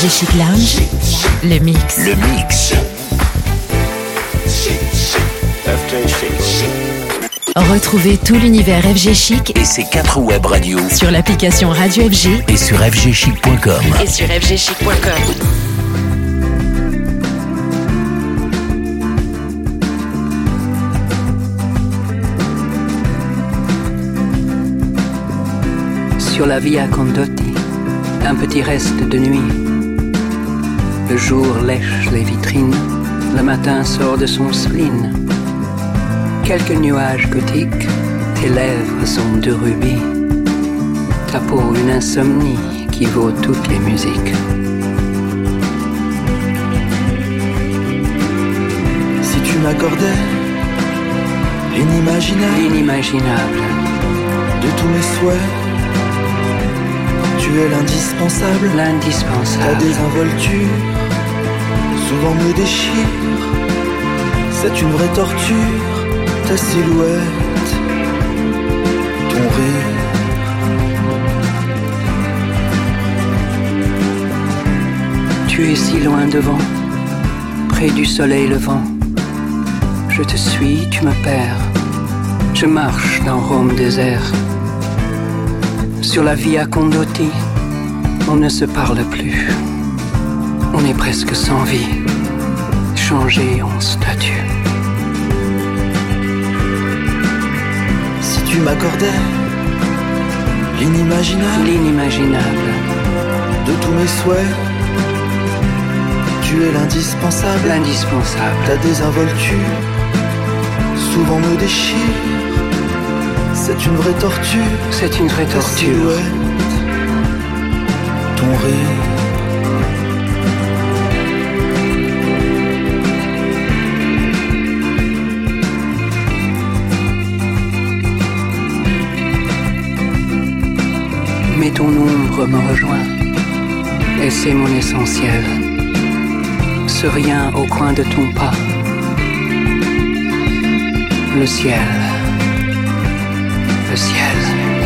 FG Chic Lounge, le mix. Le mix. Retrouvez tout l'univers FG Chic et ses 4 web radios sur l'application Radio FG et sur fgchic.com. Sur la Via Condotti, un petit reste de nuit. Le jour lèche les vitrines, le matin sort de son spleen. Quelques nuages gothiques, tes lèvres sont de rubis. Ta peau une insomnie qui vaut toutes les musiques. Si tu m'accordais l'inimaginable de tous mes souhaits, tu es l'indispensable. Ta désinvolture souvent me déchire. C'est une vraie torture, ta silhouette, ton rire. Tu es si loin devant, près du soleil levant. Je te suis, tu me perds. Je marche dans Rome désert. Sur la Via Condotti, on ne se parle plus. On est presque sans vie, changé en statue. Si tu m'accordais l'inimaginable de tous mes souhaits, tu es l'indispensable. Ta désinvolture souvent me déchire. C'est une vraie torture. Ta silhouette, ton rire. Mais ton ombre me rejoint, et c'est mon essentiel. Ce rien au coin de ton pas. Le ciel. Le ciel.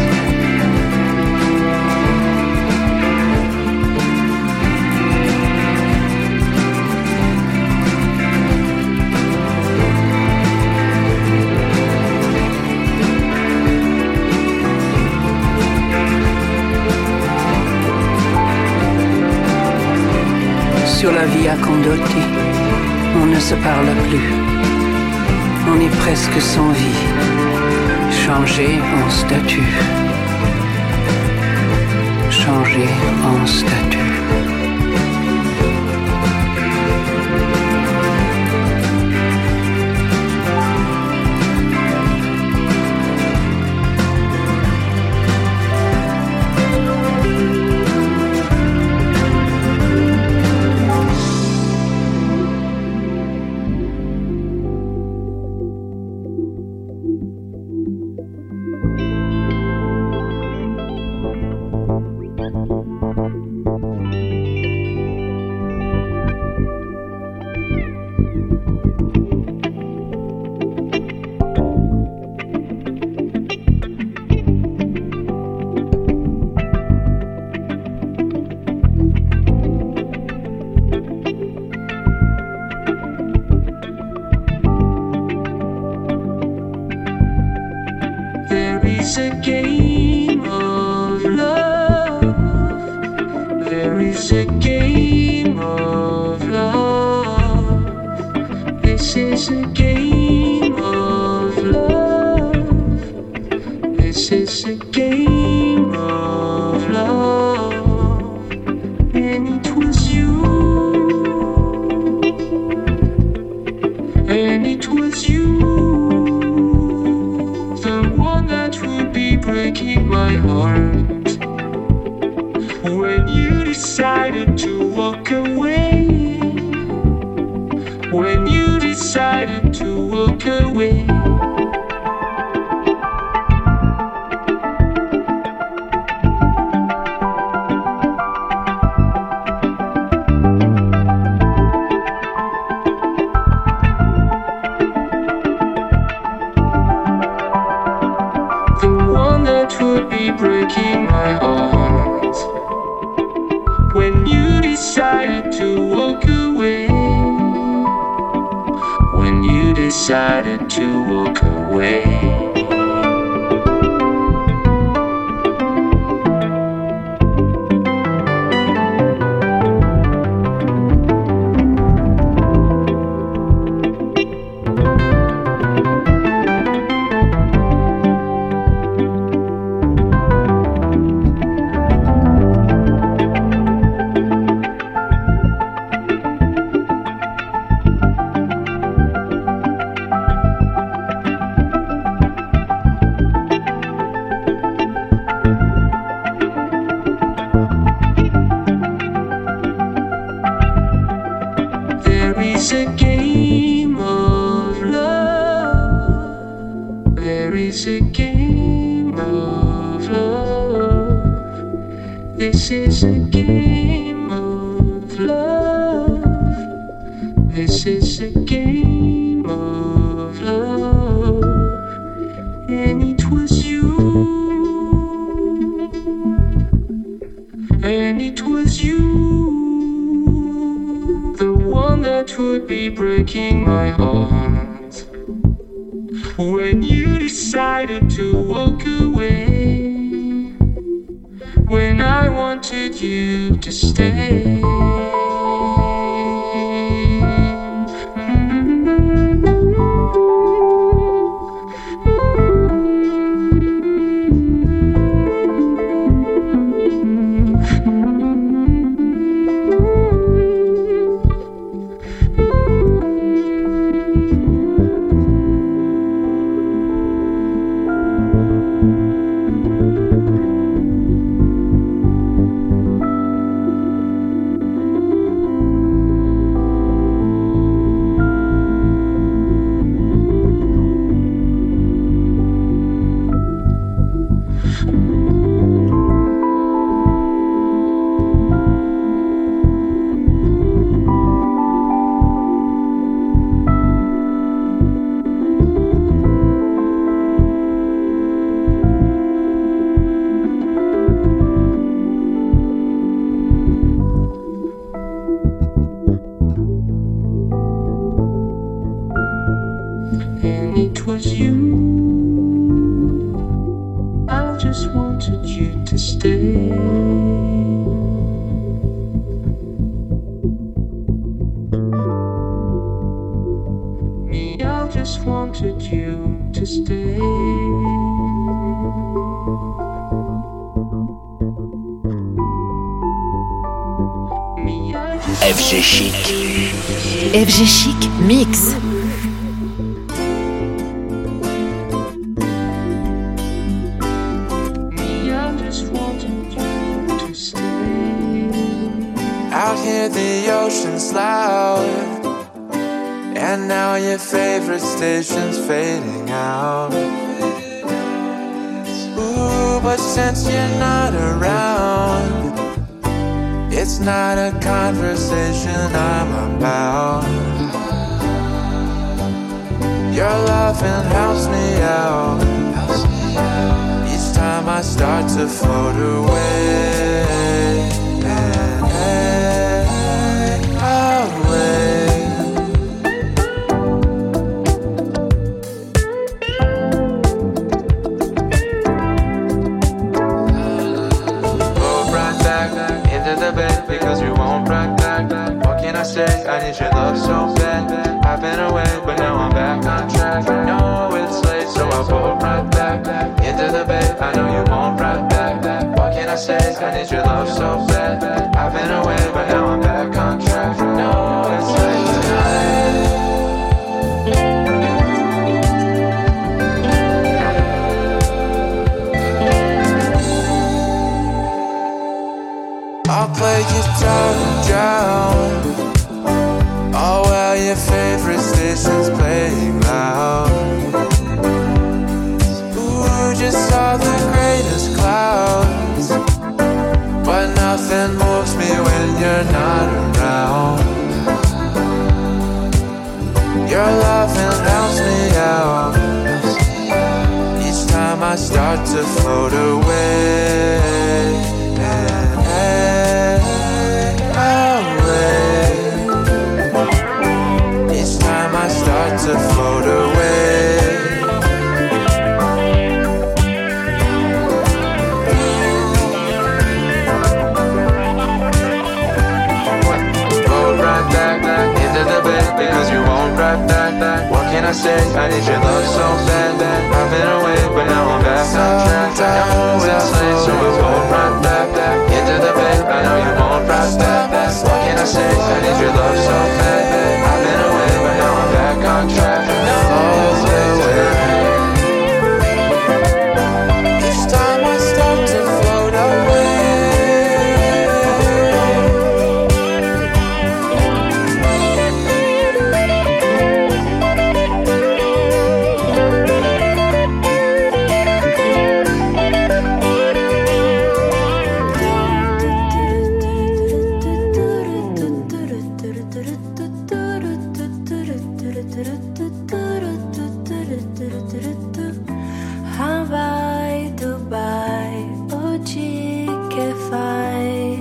Sur la Via Condotti, on ne se parle plus. On est presque sans vie, changé en statue. Changé en statue. Breaking my heart when you decided to walk away. When you decided to walk away. FG Chic. FG Chic Mix. Out here the ocean's loud, and now your favorite station's fading out. Ooh, but since you're not around, it's not a conversation I'm about. Your loving helps me out each time I start to float away. Because you won't rock back. What can I say? I need your love so bad. I've been away, but now I'm back on track. I know it's late, so I'll pull right back into the bed. I know you won't rock back. What can I say? I need your love so bad. I've been away, but now I'm back on track. I know it's late tonight. I'll play guitar and drown. Oh well, your favorite station's playing loud. Ooh, just saw the greatest clouds, but nothing moves me when you're not around. Your loving helps me out each time I start to float away. love so bad. I've been away, but now I'm back on track. I know it's late, so I pulled right back into the bed. I know you won't right back. What can I say? I need your love so bad. I've been away, but now I'm back on track. I know it's late. Each time I start to float away. Hawaii, Dubai, oggi che fai?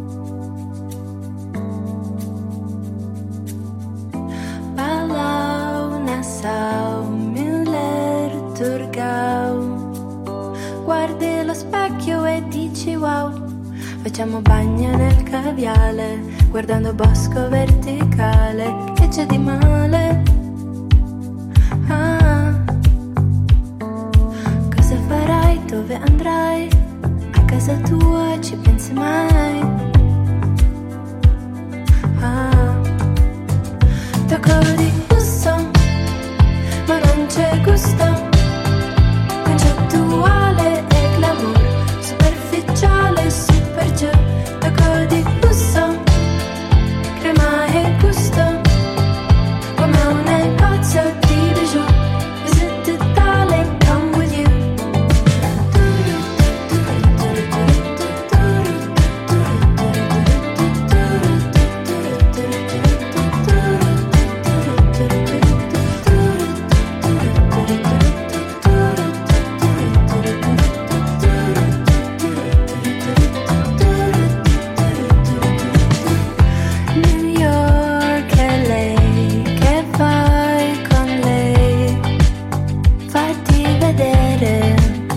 Palau, Nassau, Müller, Turgau. Guardi lo specchio e dici wow. Facciamo bagno nel caviale, guardando bosco verticale. Che c'è di male? Ah. Cosa farai? Dove andrai? A casa tua ci pensi mai? Ah. Tocco di busto, ma non c'è gusto. Concettuale e glamour, superficiale, super giù. Tocco di busto, crema e gusto, come un negozio di bijou. Visit Italy, come with you. New York, LA, che fai con lei? Fatti vedere.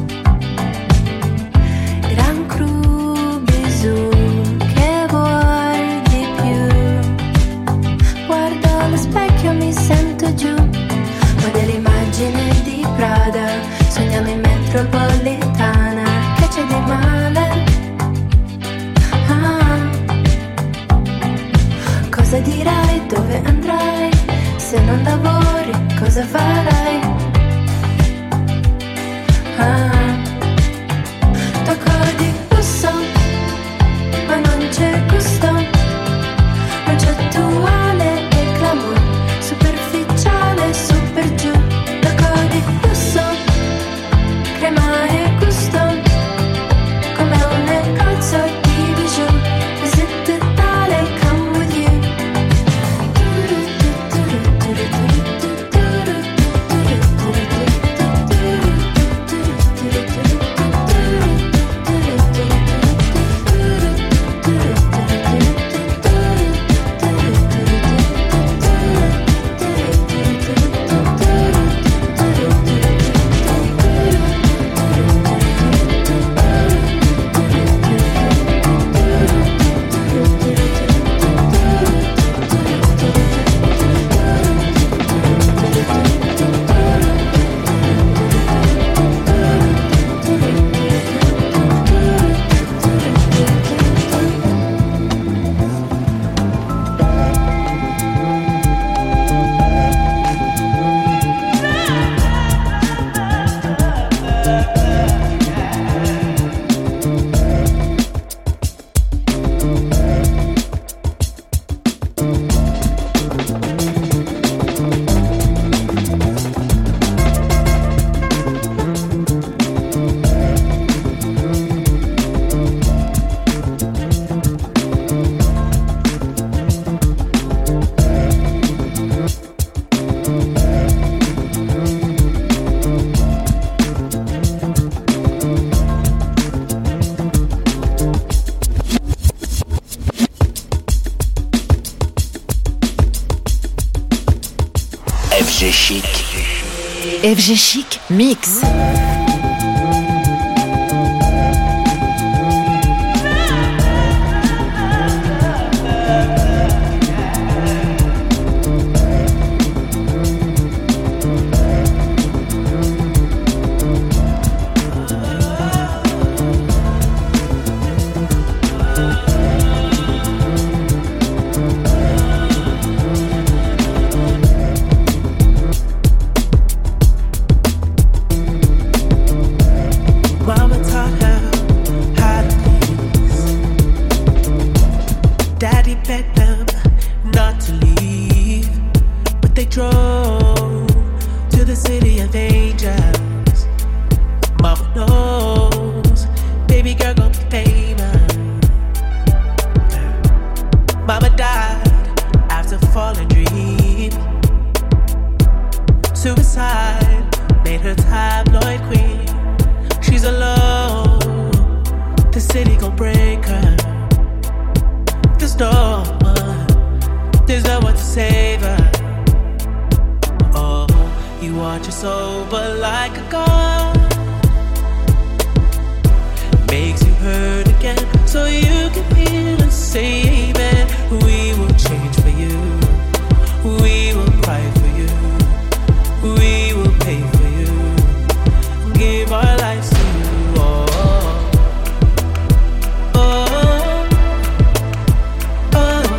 Gran Cru, Bisù, che vuoi di più? Guardo allo specchio, mi sento giù. Guarda l'immagine di Prada, sognando in metropolitana. Che c'è di male? Ah. Cosa dirai? Dove andrai? Se non lavori, cosa farai? Ah. Tocco di busto, ma non c'è gusto. Concettuale e glamour, superficiale, super giù. Tocco di busto, crema e gusto, come un negozio di bijou. Visit Italy, come with you. FG Chic. FG Chic Mix. her tabloid queen. She's alone. The city gon' break her. There's no one to save her. Oh, you watch her sober like a god. Makes you hurt again, so you can heal and save it. We will change for you. We will cry for you. We will pay for you. Give our lives to you. Oh, oh, oh,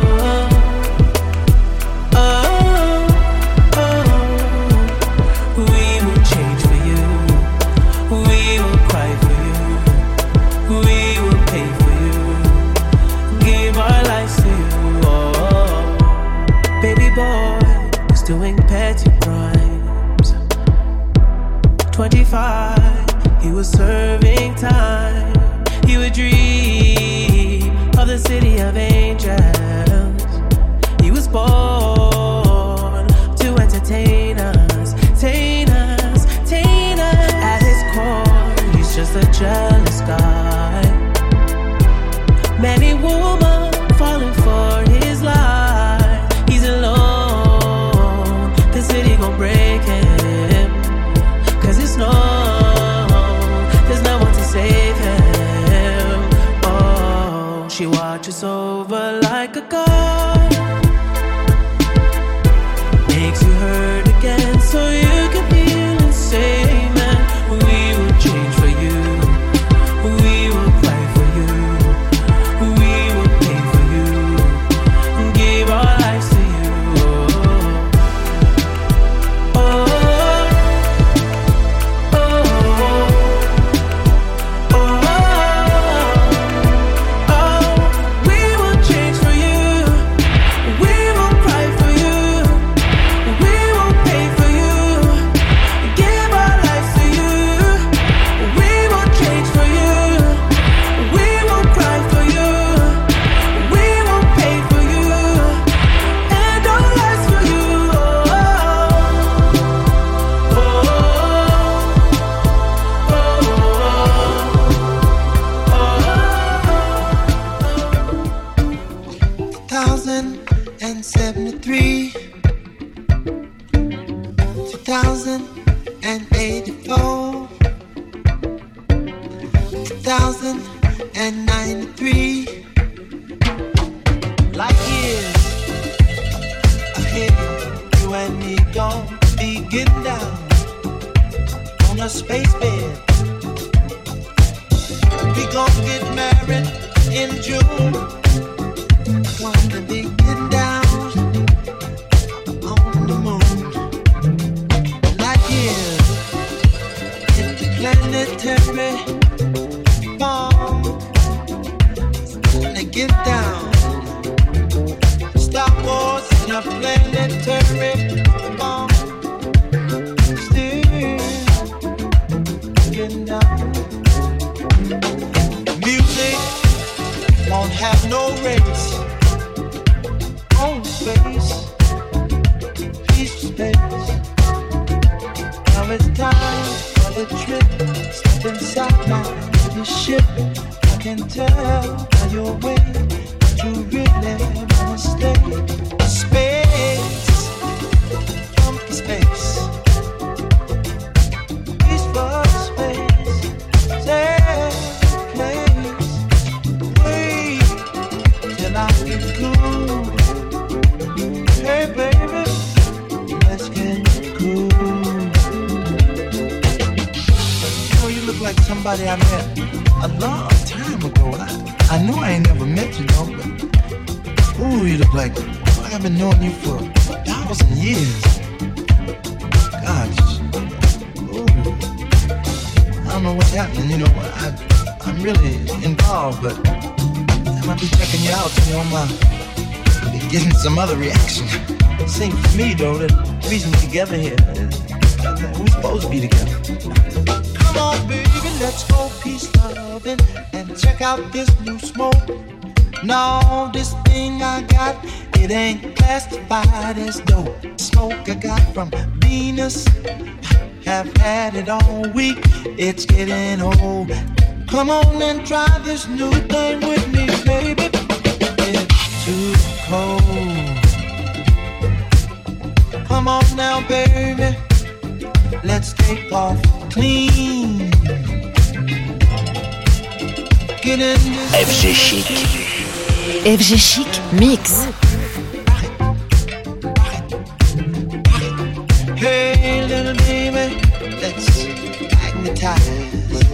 oh, oh, oh. We will change for you. We will cry for you. We will pay for you. Give our lives to you. Oh, baby boy is doing petty crimes. 25, he was serving time. He would dream of the city of angels. He was born to entertain us, entertain us, entertain us. At his core, he's just a jealous guy. Many women falling for his lies. He's alone. The city gon' break him. 'Cause there's no one to save him. Oh, she watches over like a god. Makes you hurt again, so you can heal and save man. We will change for you. We will cry for you. We will pay for you. Give our lives to you. Oh, oh, oh, oh, oh. We will change for you. We will cry for you. We will pay for you. Give our lives to you. We will change for you. We will cry for you. We will pay for you. And our lives for you. Oh, oh, oh, 1073, 2084, 2093. Light years ahead, you and me gon' be getting down on a space bed. We gon' get married in June. Gonna be getting down on the moon. Light years interplanetary bomb. They get down. Star Wars in a planetary bomb. Still getting down. Music won't have no race. On space, peace space. Now it's time for the trip. Step inside my little ship. I can tell by your way that you really wanna stay. Space, from space. Peace for space. Safe place. Wait till I get cool. Hey baby, let's get cool. You know, you look like somebody I met a long time ago. I know I ain't never met you, though, but ooh, you look like I've been knowing you for 1,000 years. Gosh, ooh, I don't know what's happening. You know, I'm really involved, but I might be checking you out. You know, be getting some other reaction. Sing for me, though. The reason we're together here is we're supposed to be together. Come on, baby, let's go peace loving and check out this new smoke. No, this thing I got, it ain't classified as dope. Smoke I got from Venus, have had it all week. It's getting old. Come on and try this new thing with me, baby. It's too cold. Come on now, baby. Let's take off clean. Get in this FG Chic. FG Chic Mix. Hey, little baby, let's magnetize.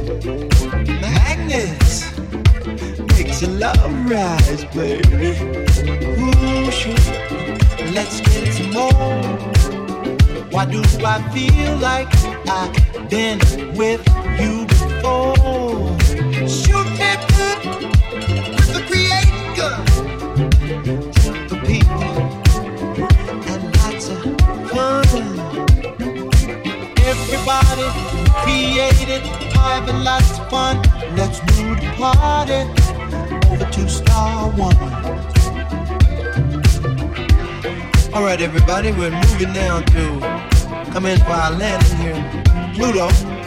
Magnets makes your love rise, baby. Ooh, sure. Let's get some more. Why do I feel like I've been with you before? Shoot me good with the creator, the people, and lots of fun. Everybody created, having lots of fun. Let's move the party over to Star One. All right, everybody, we're moving now to come in for our landing here in Pluto.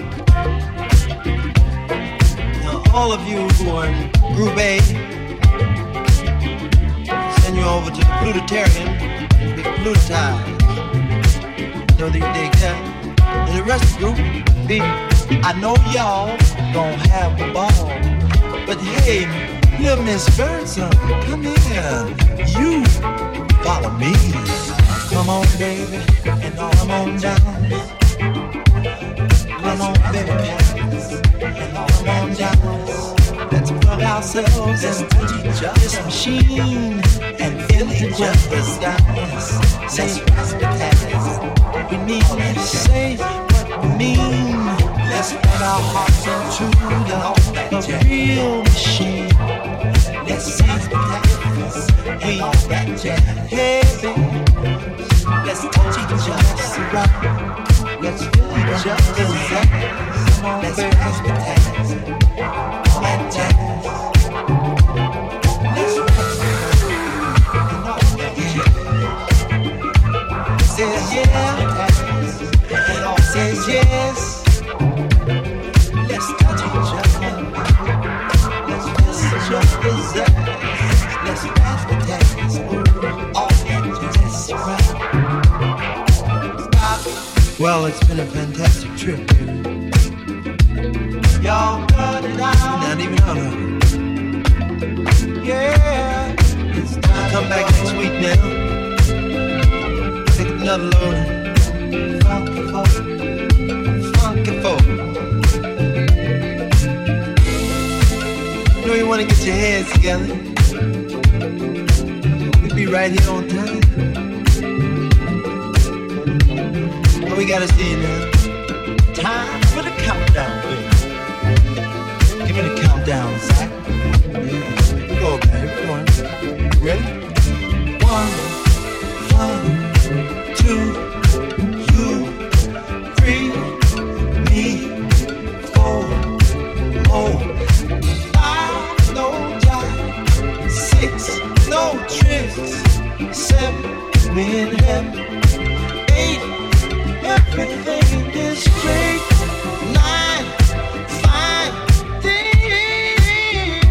Now, all of you who are in Group A, send you over to the Plutarium, be Plutized. So that you dig that. And the rest of the group, I know y'all gon' have a ball, but hey, little Miss Birdsong, come here, you follow me. Come on, baby, and come on down. Come on, baby, and come on down. Let's plug ourselves into this machine and feel each other's dance. Say what we need to say what we mean. Let's put our hearts into the real machine. Let's see what happens. We heavy. Let's touch each other's rock. Let's feel each other's up. Come on, let's pass the task. All that jazz. Let's pass the task. Says yeah. Says yes. Let's touch each other. Let's kiss each other's ass. Let's pass the task. All that jazz. Right. Well, it's been a fantastic trip, dude. Y'all got it out. Not even on it. Yeah. It's time to come back next week now. Take another load. Funky folk. Funky folk. You know you want to get your heads together. We'll be right here on time. We gotta see you now. Time for the countdown, baby. Give me the countdown, Zach. Yeah. Go, baby. Come on. Ready? 1, 2, you, 3, me, 4, 5, no jive, 6, no tricks, 7, we in heaven, 8. Everything is great. 9, fine things.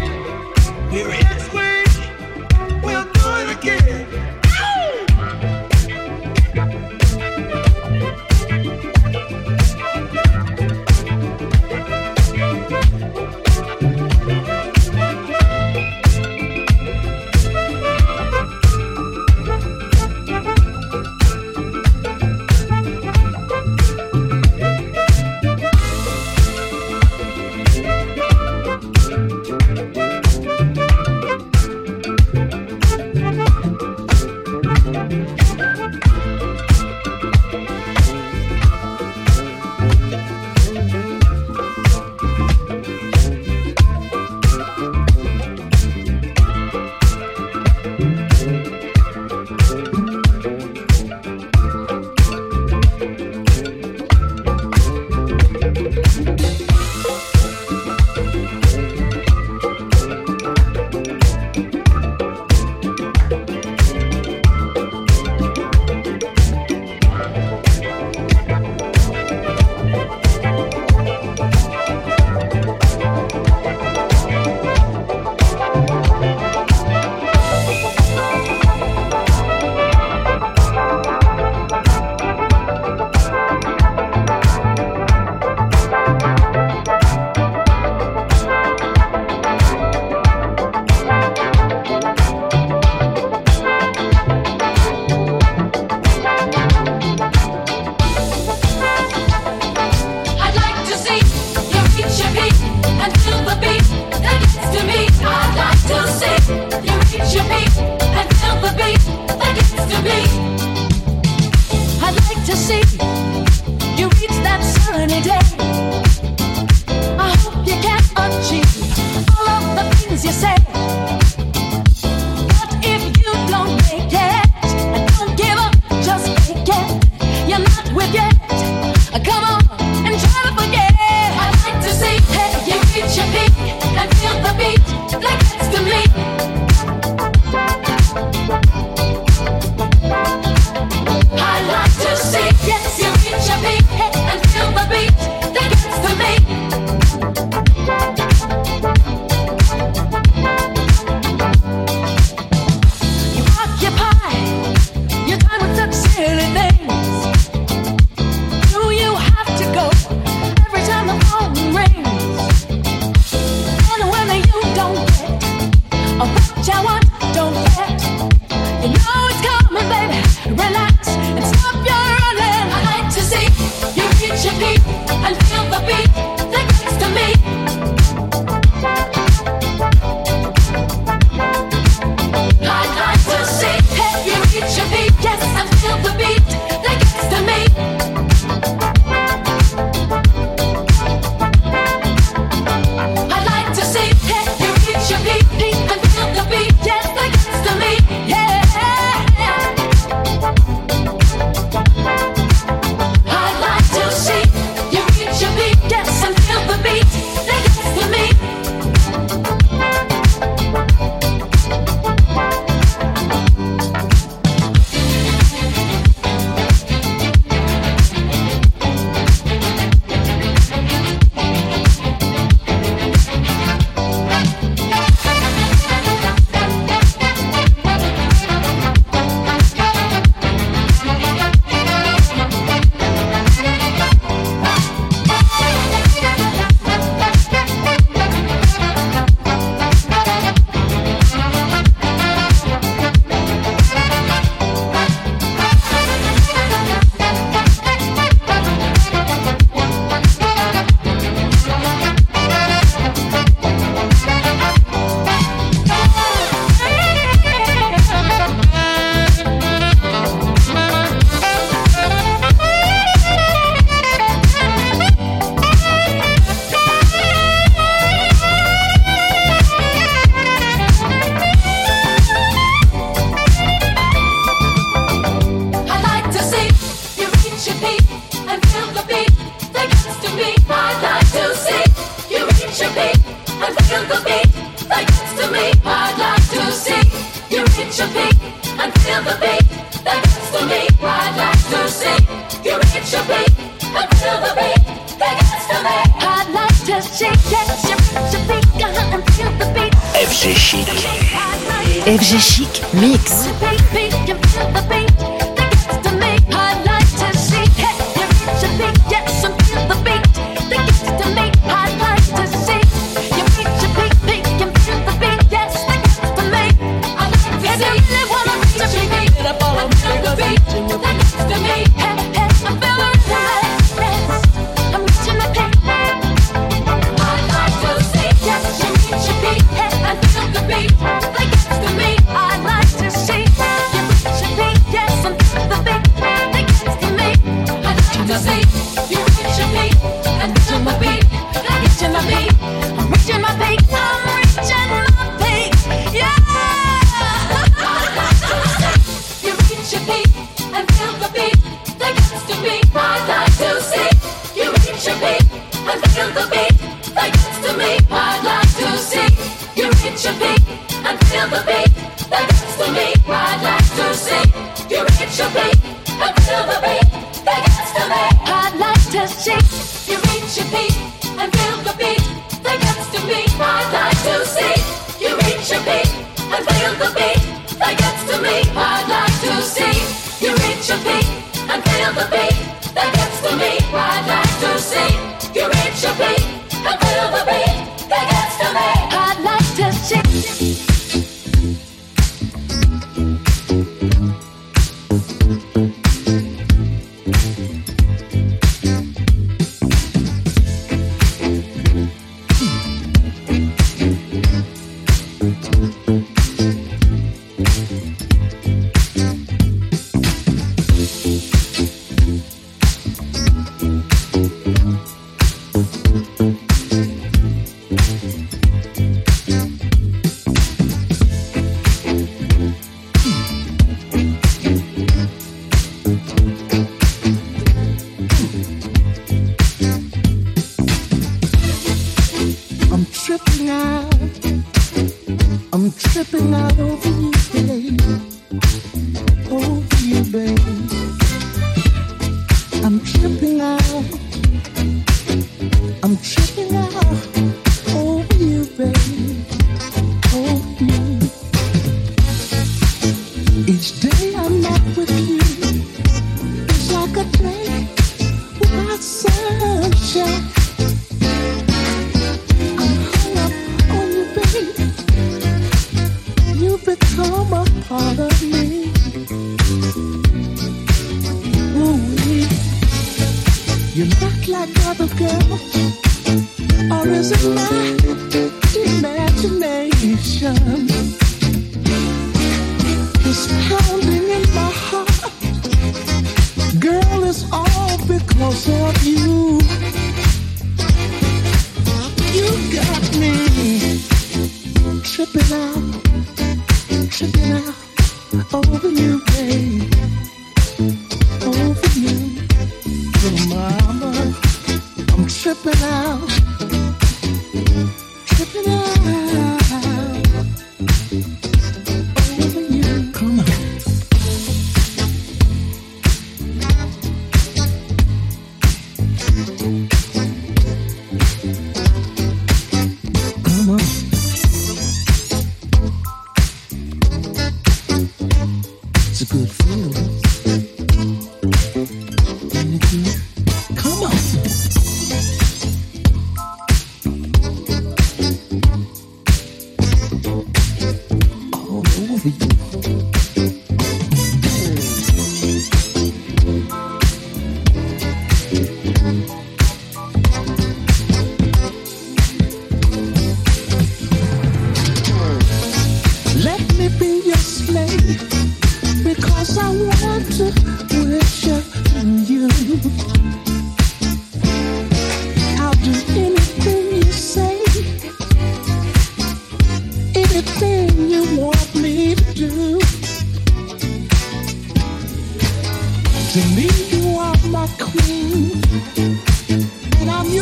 beat. I'd like to see you reach your peak and feel the beat that gets to me. I'd like to see you reach your peak and feel the beat that gets to me. I'd like to see you reach your peak and feel the beat that gets to me. I'd like to see yes, you reach your peak and feel the beat. FG Chic. FG Chic Mix.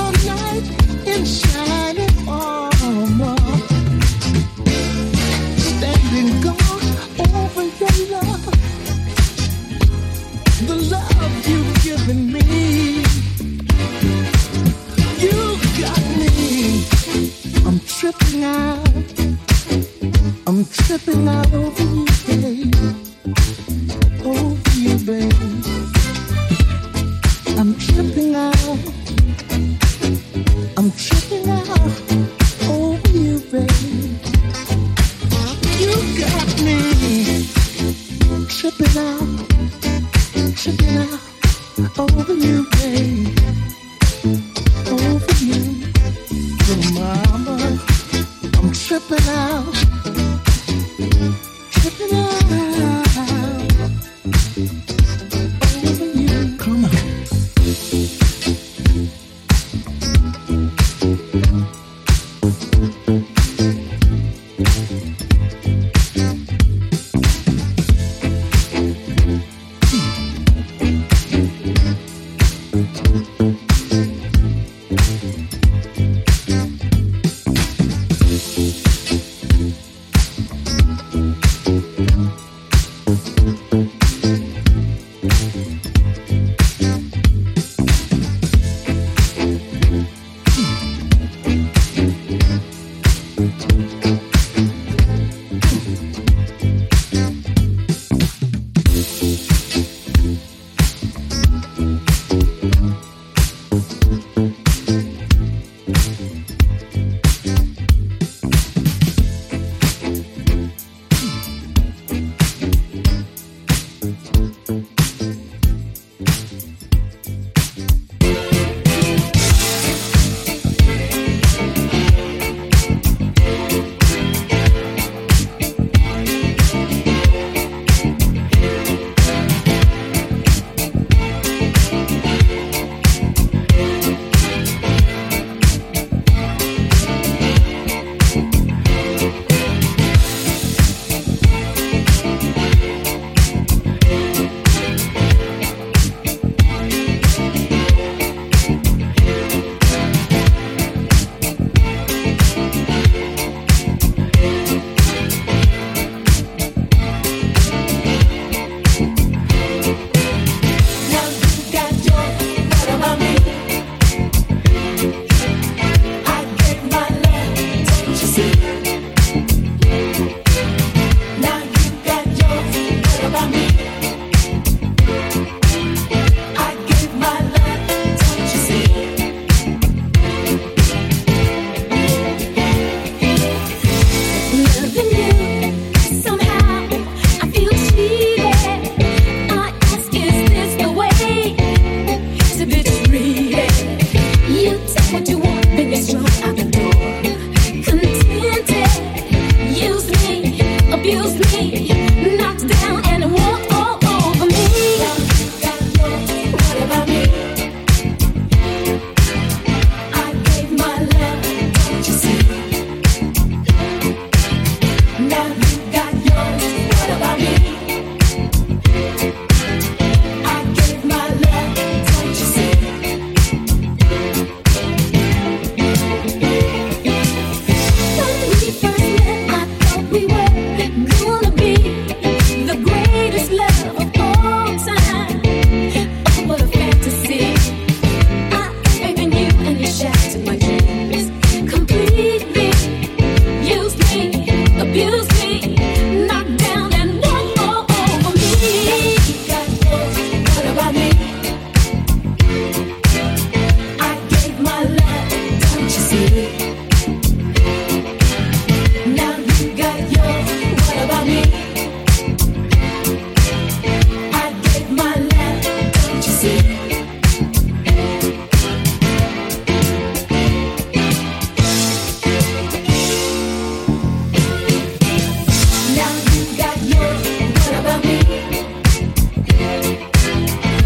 your knight in shining armor, standing guard over your love, the love you've given me. You got me. I'm tripping out. I'm tripping out over you, babe. Over you, babe. I'm tripping out. I'm tripping out over you, babe. You got me tripping out over you, babe. Over you, little mama. I'm tripping out. Tripping out over you. Come on.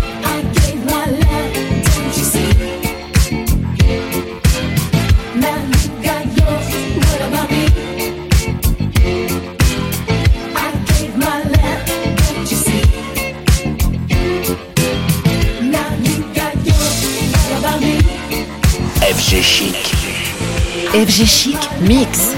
Now FG Chic. FG Chic Mix.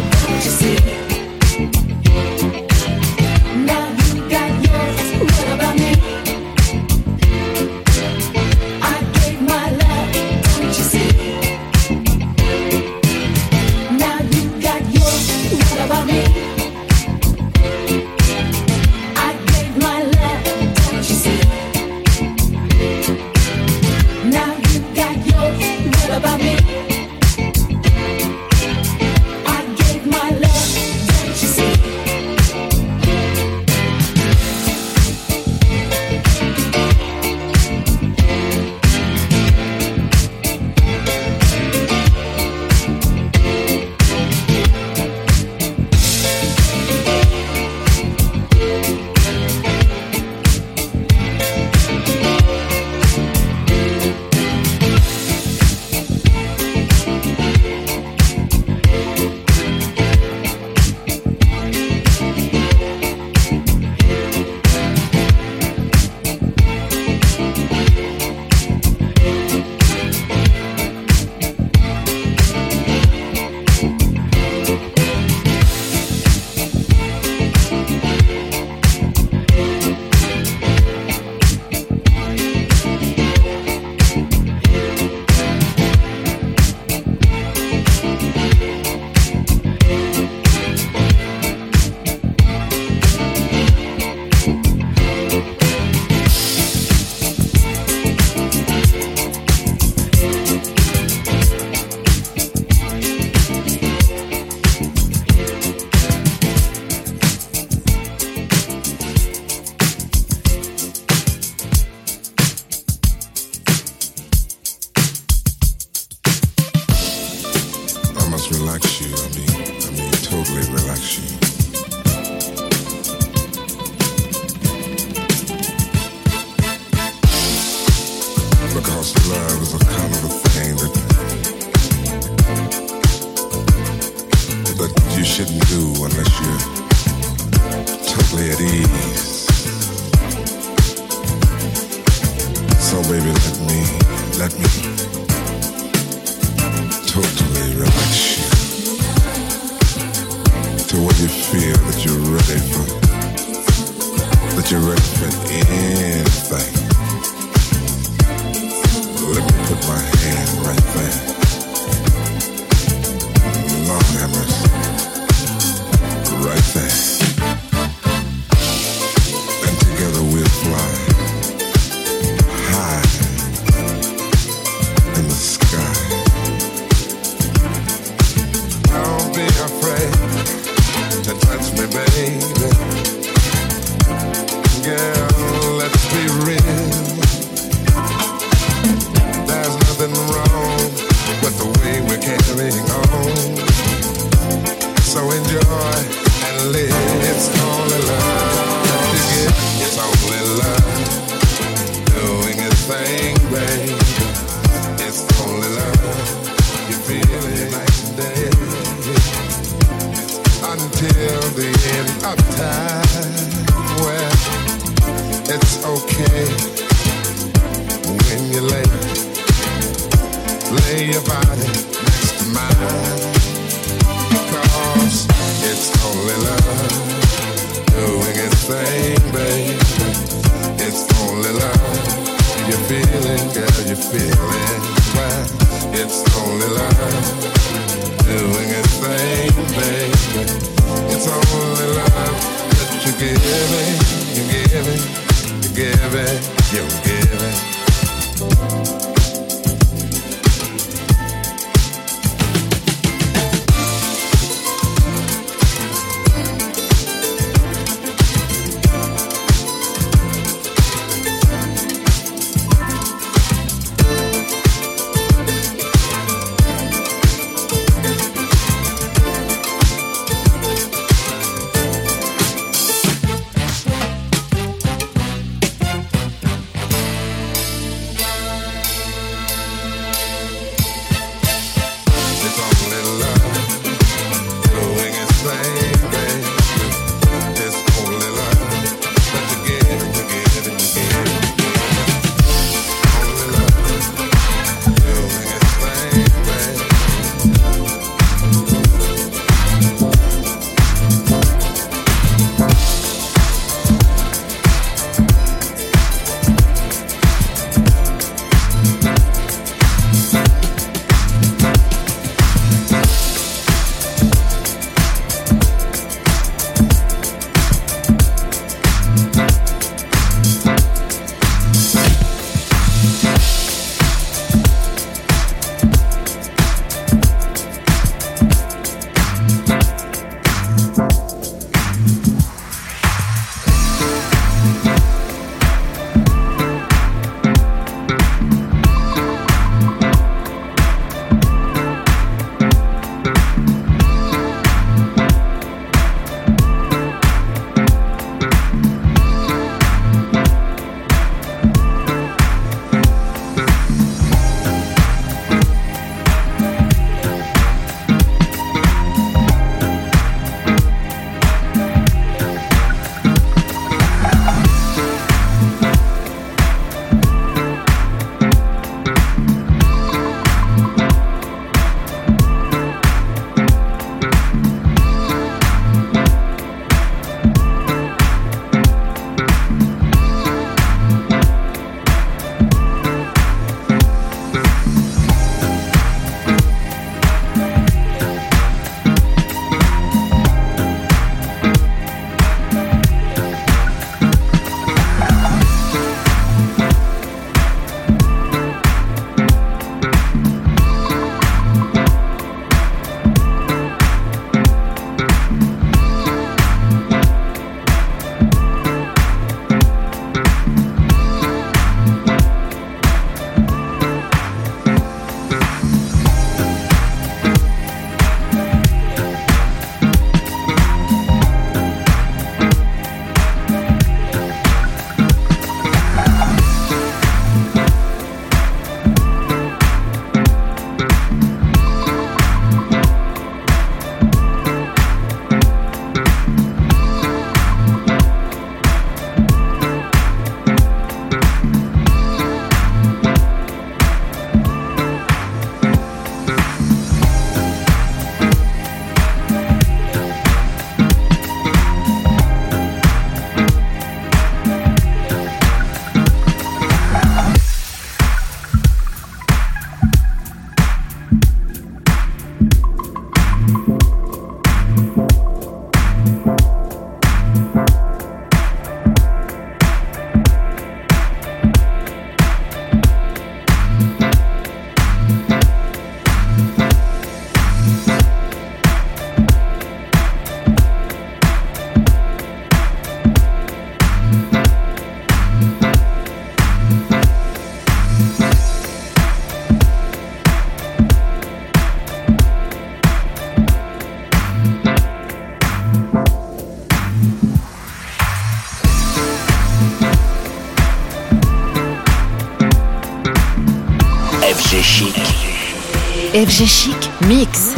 FG Chic Mix.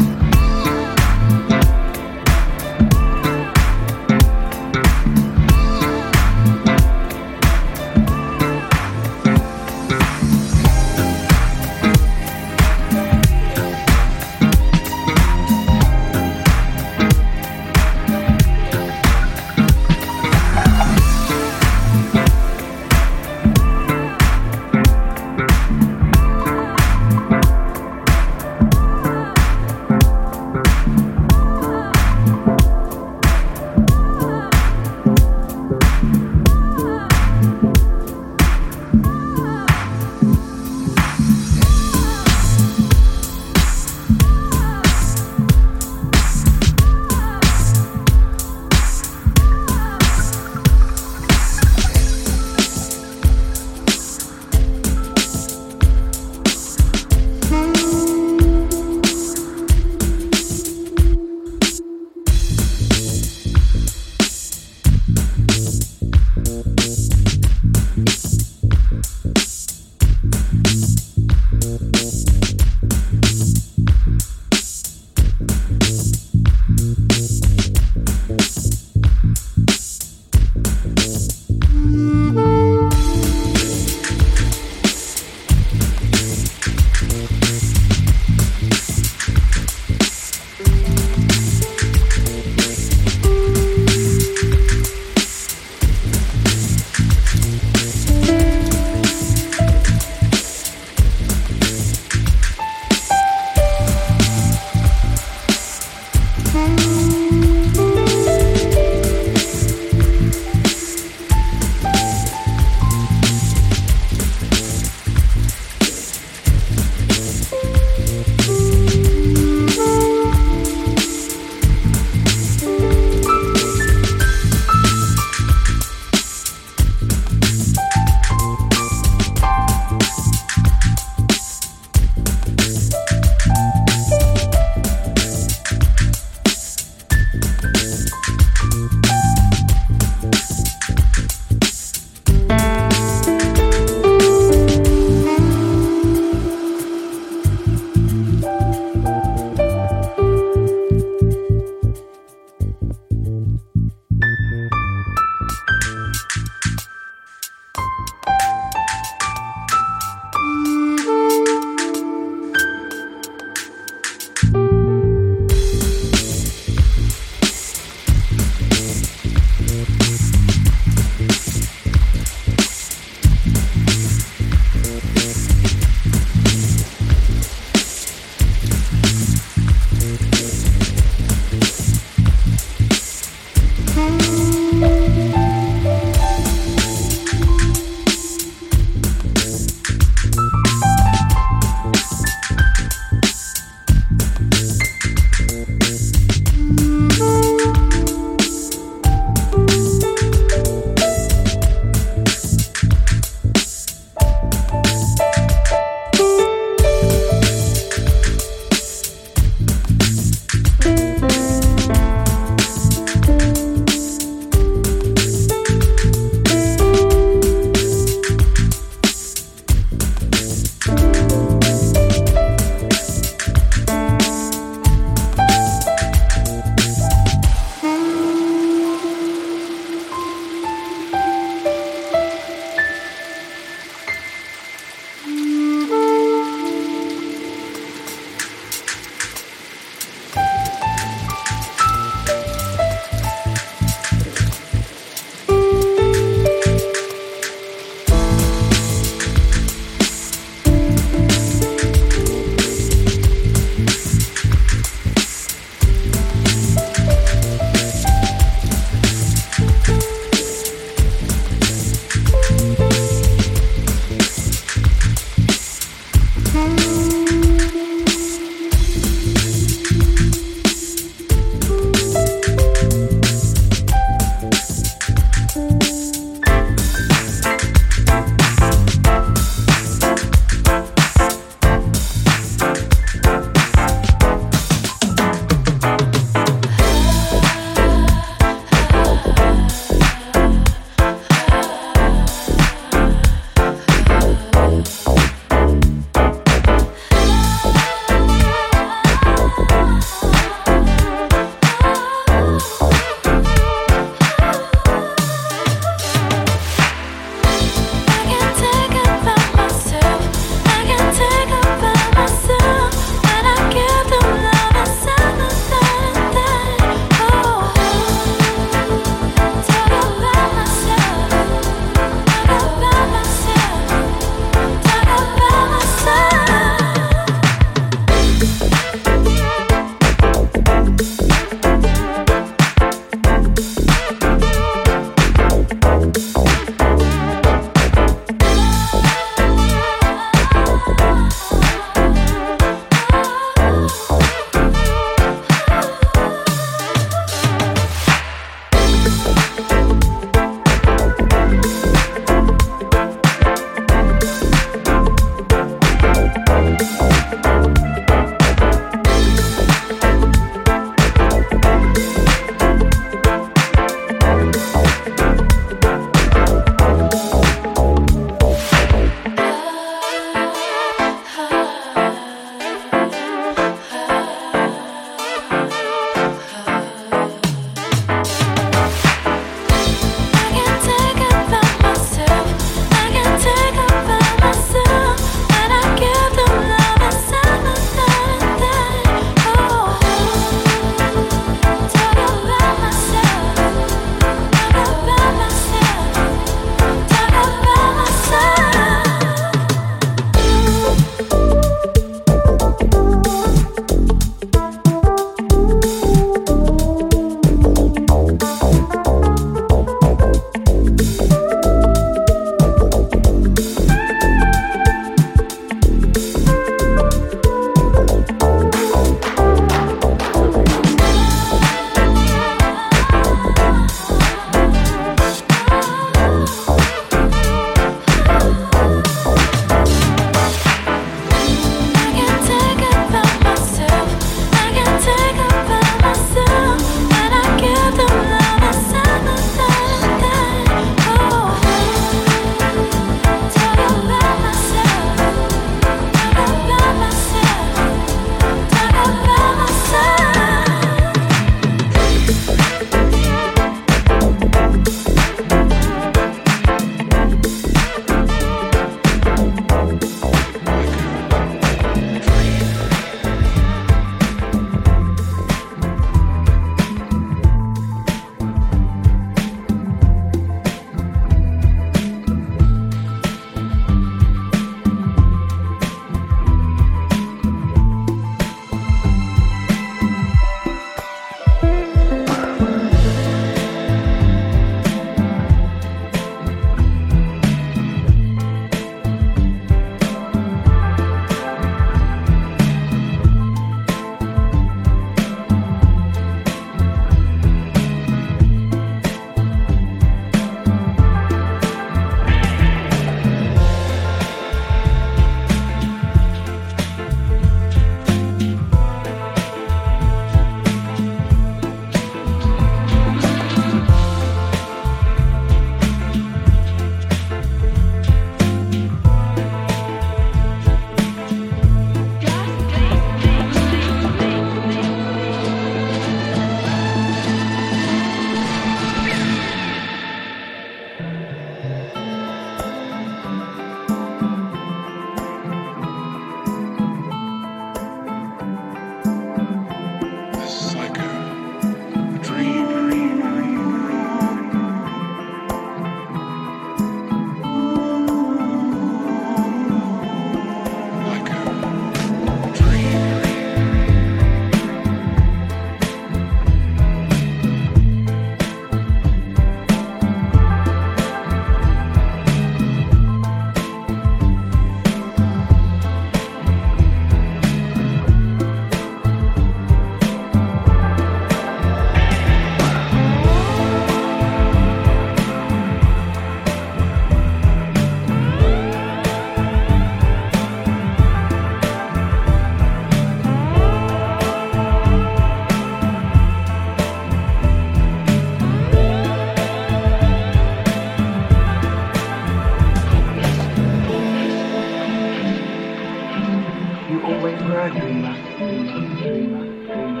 away for a dreamer.